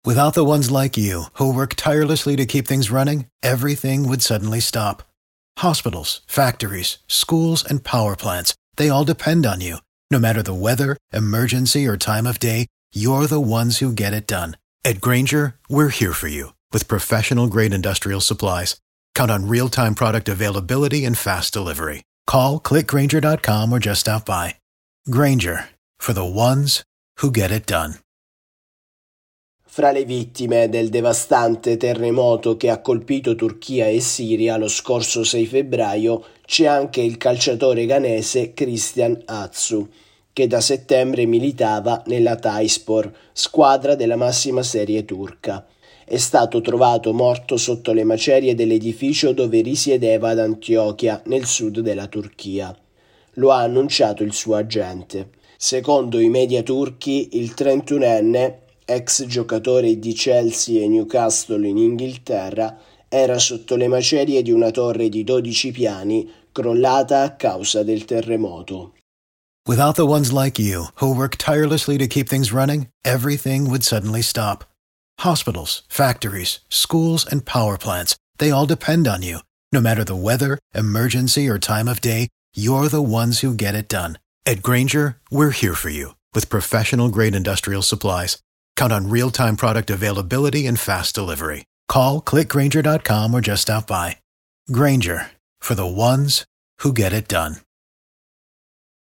Without the ones like you, who work tirelessly to keep things running, everything would suddenly stop. Hospitals, factories, schools, and power plants, they all depend on you. No matter the weather, emergency, or time of day, you're the ones who get it done. At Grainger, we're here for you with professional-grade industrial supplies. Count on real-time product availability and fast delivery. Call, click Grainger.com or just stop by. Grainger, for the ones who get it done. Fra le vittime del devastante terremoto che ha colpito Turchia e Siria lo scorso 6 febbraio c'è anche il calciatore ghanese Christian Atsu, che da settembre militava nell'Hatayspor, squadra della massima serie turca. È stato trovato morto sotto le macerie dell'edificio dove risiedeva ad Antiochia, nel sud della Turchia. Lo ha annunciato il suo agente. Secondo i media turchi, il 31enne, ex giocatore di Chelsea e Newcastle in Inghilterra, era sotto le macerie di una torre di 12 piani crollata a causa del terremoto. Without the ones like you, who work tirelessly to keep things running, everything would suddenly stop. Hospitals, factories, schools, and power plants, they all depend on you. No matter the weather, emergency, or time of day, you're the ones who get it done. At Grainger, we're here for you with professional-grade industrial supplies. Count on real-time product availability and fast delivery. Call, click Grainger.com or just stop by. Grainger, for the ones who get it done.